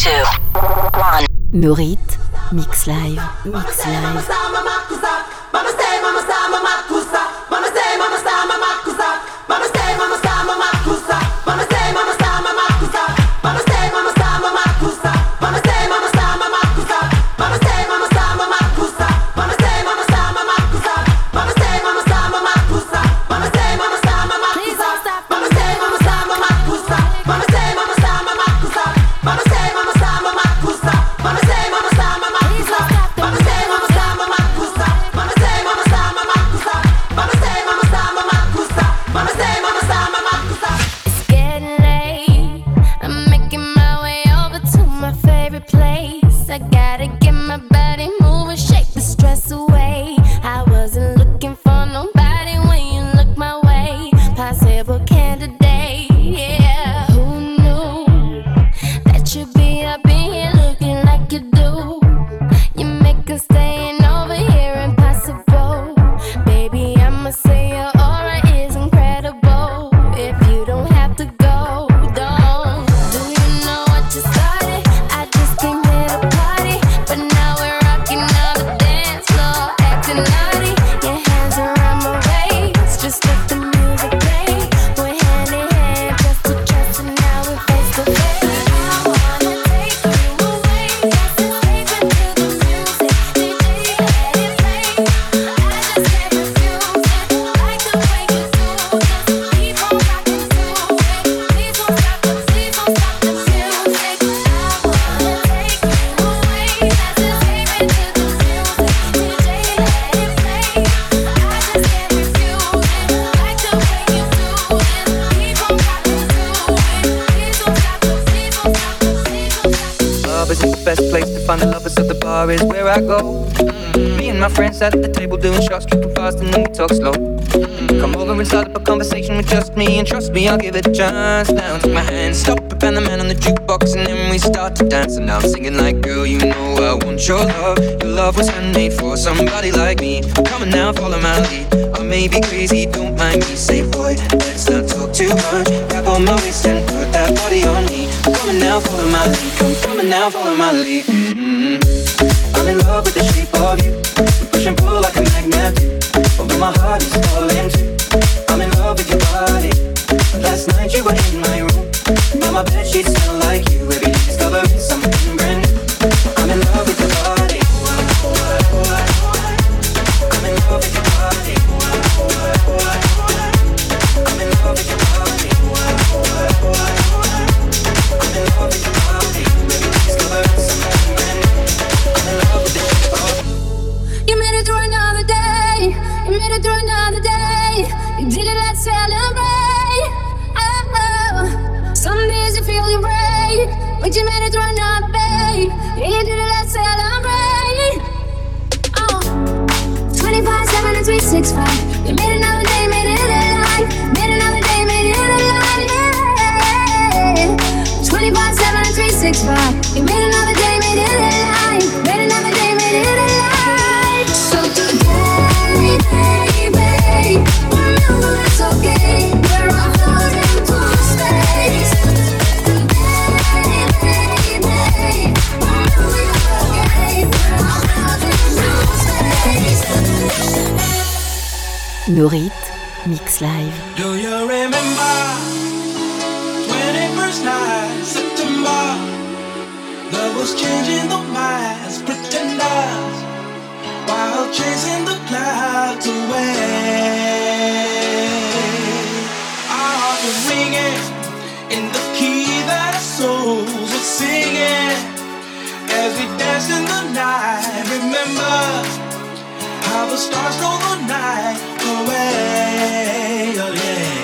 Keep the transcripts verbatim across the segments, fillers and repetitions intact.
two, one. Merit, Mix Live, Mix Live. Is where I go. Mm-hmm. Me and my friends at the table doing shots, tripping fast and then we talk slow. Mm-hmm. Come over and start up a conversation with just me, and trust me, I'll give it a chance. Now take my hand, stop it, and the man on the jukebox, and then we start to dance. And now I'm singing like, girl, you know I want your love. Your love was handmade for somebody like me. Come on now, follow my lead. I may be crazy, don't mind me. Say, boy, let's not talk too much. Grab on my waist and put that body on me. Come on now, follow my lead. Come, come on now, follow my lead. Mm-hmm. I'm in love with the shape of you. We push and pull like a magnet do. Although my heart is falling too. I'm in love with your body. Last night you were in my room. Now my bedsheets smell like you. Every day discovering something brand new. I'm in love with your body. I'm in love with your body. I'm in love with your body. I'm in love with your body. Every day discovering something brand new. You made it through another day. You made it through another day. You did it, let's celebrate. Oh, oh. Some days you feel your break, but you made it through another day. You did it, let's celebrate. Oh, twenty-five, seven, and three sixty-five. You made another day, made it alive. Made another day, made it alive. Yeah. twenty-five, seven, and three sixty-five. You made another day, made it alive. Made another day, made it alive. So today, baby, remember it's okay. We're all floating through space. Today, baby, remember you're okay. We're all floating through space. Merit, Mix Live. Do you remember twenty-first night, September? Love was changing the minds, pretenders, while chasing the clouds away. Our hearts were ringing in the key that our souls were singing as we danced in the night. Remember how the stars stole the night away. Oh yeah.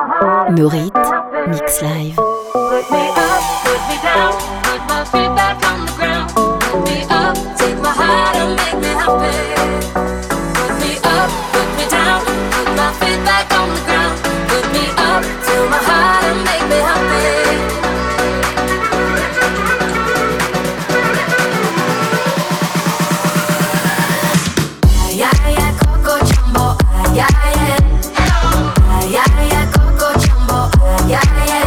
Nourrit Mix Live. Put me up, put me down, put my feet back on the ground. Put me up, take my heart and make me happy. Put me up, put me down, put my feet back on the ground. Put me up, till my heart and make me happy. Ay, ay, ay, Coco Jumbo, ay, ay, ay. Ay, ay, ay, Coco Jumbo, ay, ay, ay.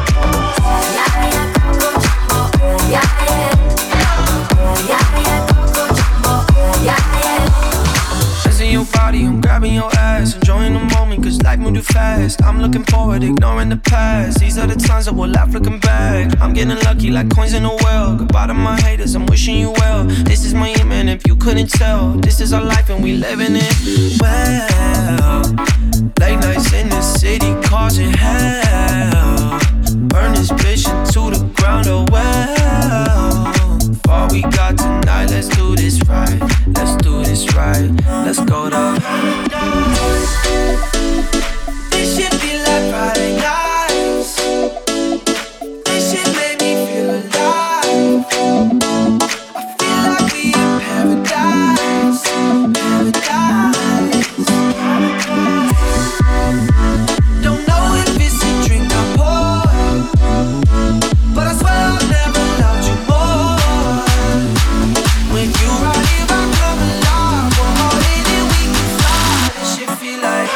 Your body, I'm grabbing your ass, enjoying the moment, cause life moved too fast. I'm looking forward, ignoring the past. These are the times that we'll laugh looking back. I'm getting lucky like coins in a well. Goodbye to my haters, I'm wishing you well. This is my aim, and if you couldn't tell, this is our life and we living it well. Late nights in the city, causing hell. Burn this bitch into the ground, oh well. All we got tonight, let's do this right. Let's do this right. Let's go to paradise. This shit be like Friday nights. This shit made me feel alive. I feel like we in paradise. Paradise. Don't know if it's a drink I pour, but I swear I've never loved you more. When you ride here, I come alive. We're harder than we can fly. This shit feel like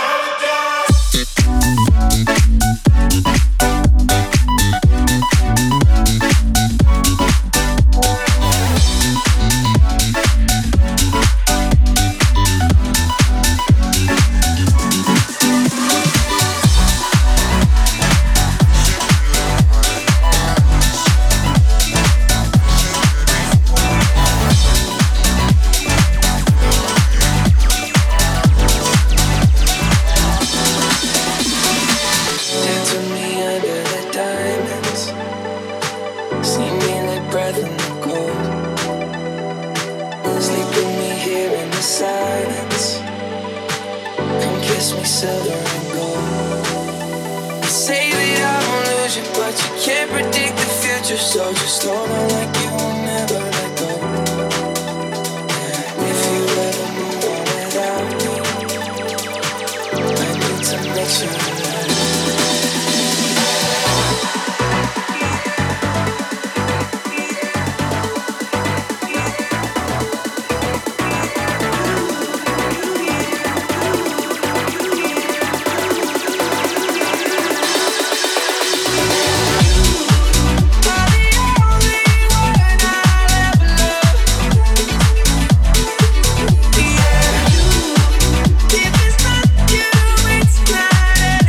so just hold on like you will never let go. If you ever move on without me, I need to make sure that if it's not you, it's not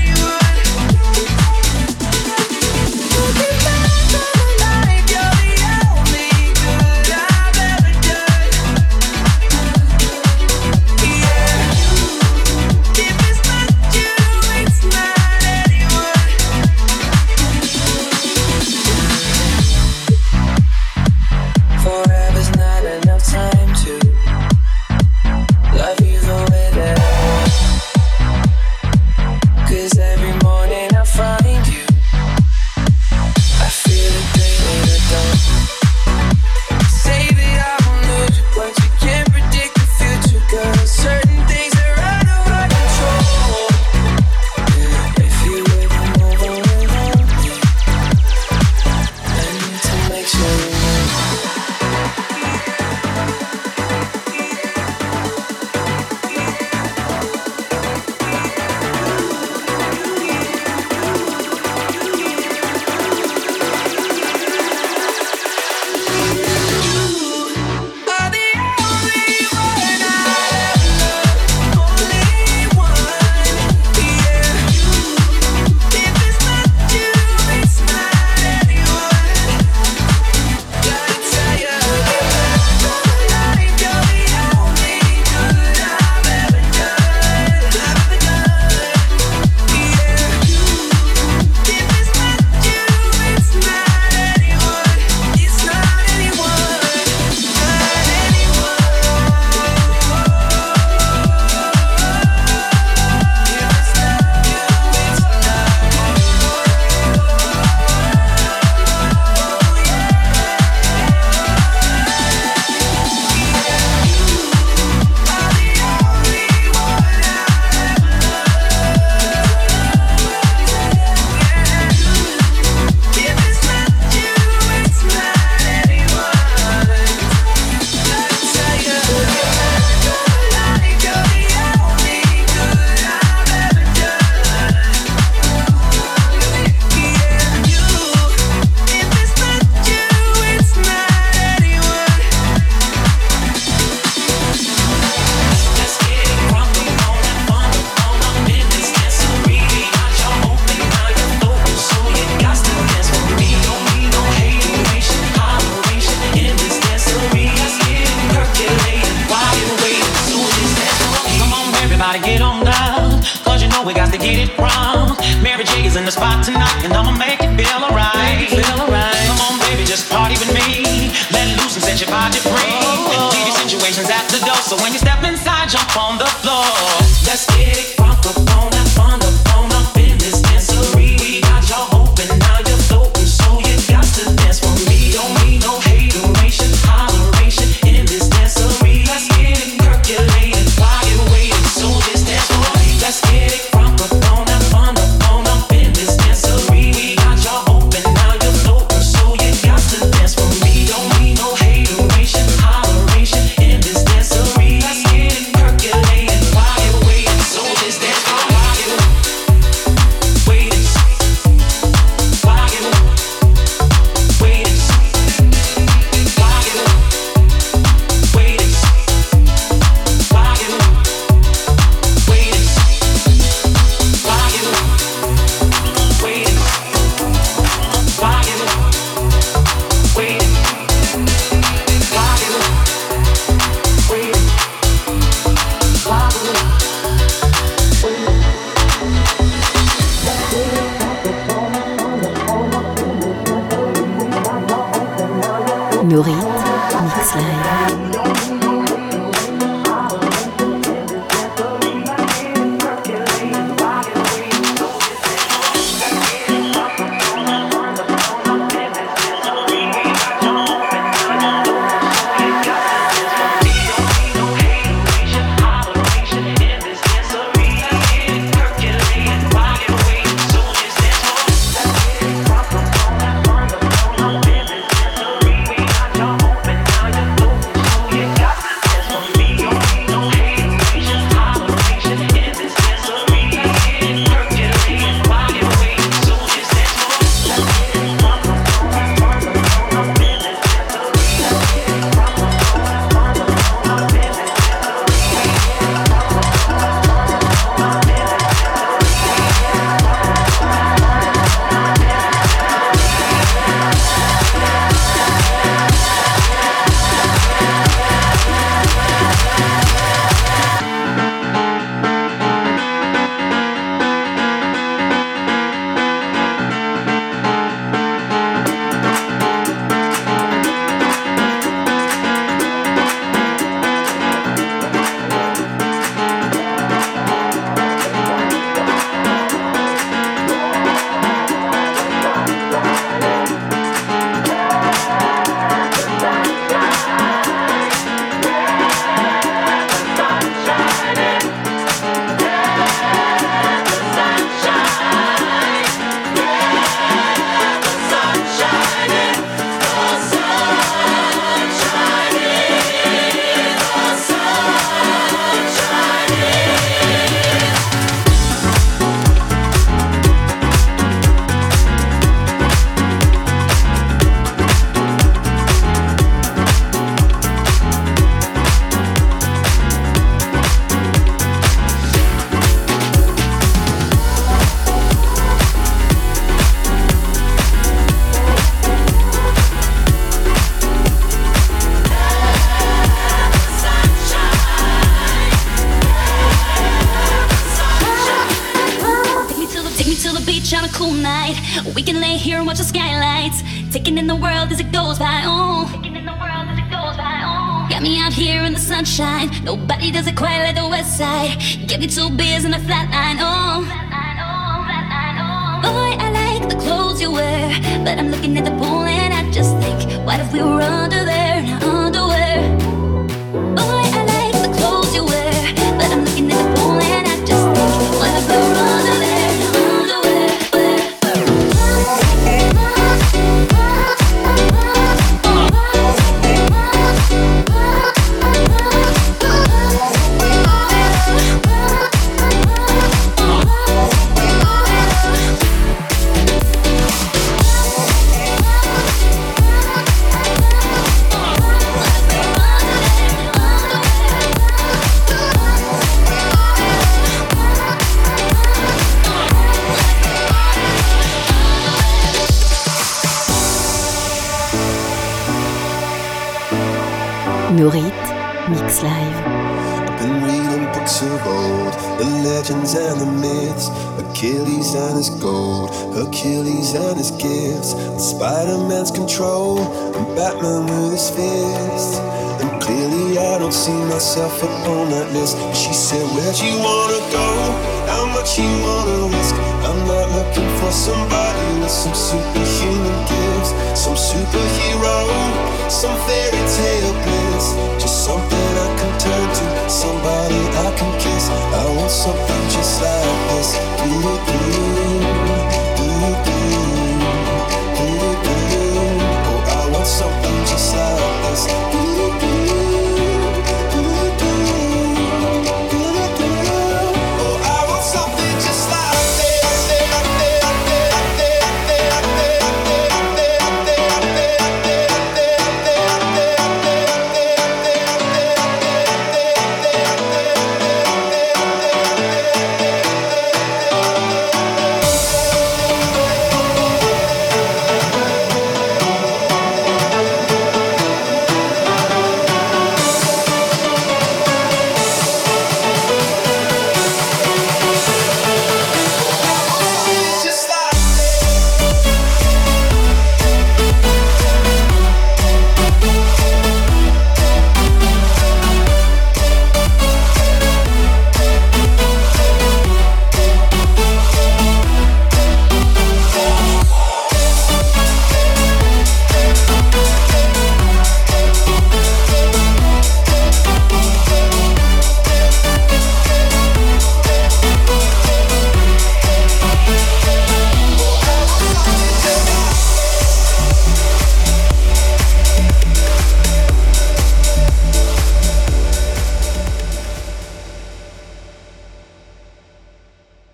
get it wrong. Mary J is in the spot tonight, and I'ma make it feel alright. Feel alright. Come on, baby, just party with me. Let loose and set your body free. Oh. T V situations at the door, so when you step inside, jump on the floor. Let's get it crunk up on that fun up on up in this dancery. We got y'all open, now you're floating, so you got to dance for me. Don't need no hateration, holleration in this dancery. Let's get it percolated while you're waiting, so this dance for me. Let's get it crunk up on that fun up on up in this dancery. We got y'all open, now you're floating, so you got to dance for me. Don't need no hateration, holleration in this dancery. Let's get it percolated while you're waiting, so this dance for me. Waiting, while you waiting, while you waiting, while you waiting, while you waiting, while you waiting, while you waiting, while you Nourrit Mix Live. We can lay here and watch the skylights, taking in the world as it goes by. Oh, got me out here in the sunshine. Nobody does it quite like the West Side. Get me two beers and a flat line. Oh, boy, I like the clothes you wear, but I'm looking at the pool and I just think, what if we were under there in our underwear? Boy, I like the clothes you wear, but I'm looking at the pool and I just think, what if we were under there? Nourrit Mix Live. I've been reading books heroics of old, the legends and the myths, Achilles and his gold, Hercules and his gifts, and Spider-Man's control, and Batman with his fists. And clearly I don't see myself up on that list. She said, where'd you wanna go? How much you wanna risk?